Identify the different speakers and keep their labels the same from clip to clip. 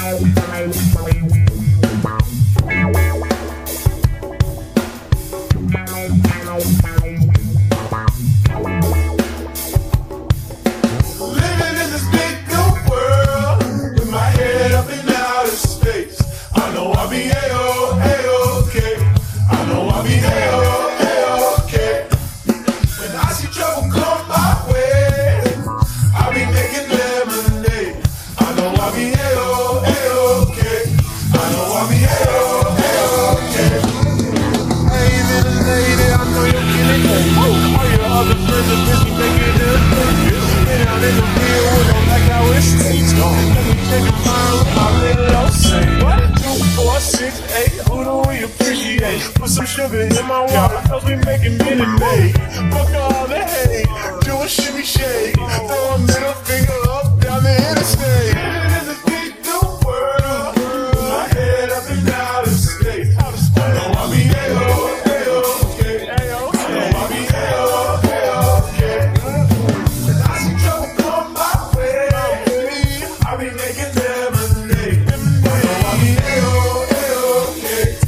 Speaker 1: Put some sugar in my water, cause we making Minute Maid. Fuck all the hate, do a shimmy shake, throw a middle finger up down the interstate. Living in the big new world, with my head up and out of space. I know I be A-O-A-O-K, I know I be A-O-A-O-K. And I see trouble come my way, I be making lemonade. I know I be A-O-A-O-K.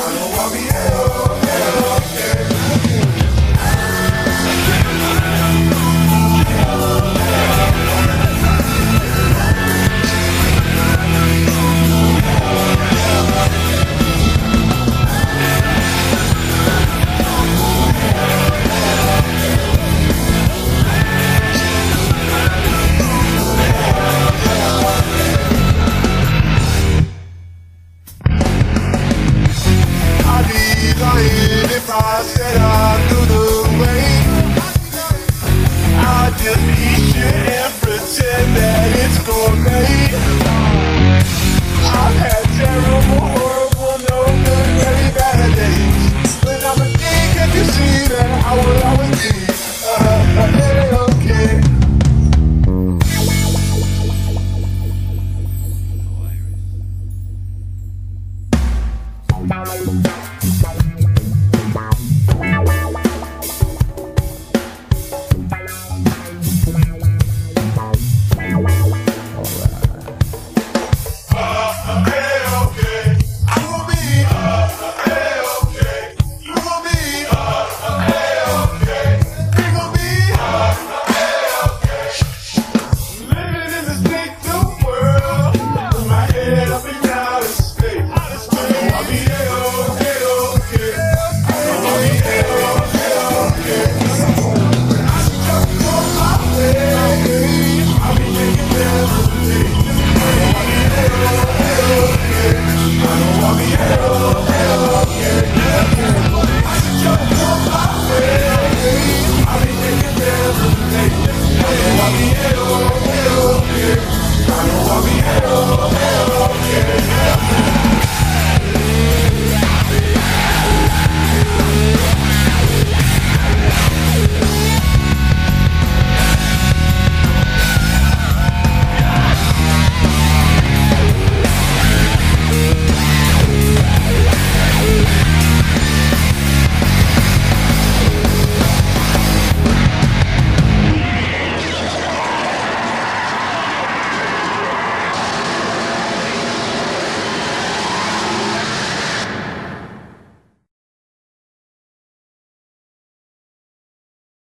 Speaker 1: If I said I knew the way, I'd just eat shit and pretend that it's gourmet. I've had terrible, horrible, no good, very bad days, but I'm a king, can't you see that I will always be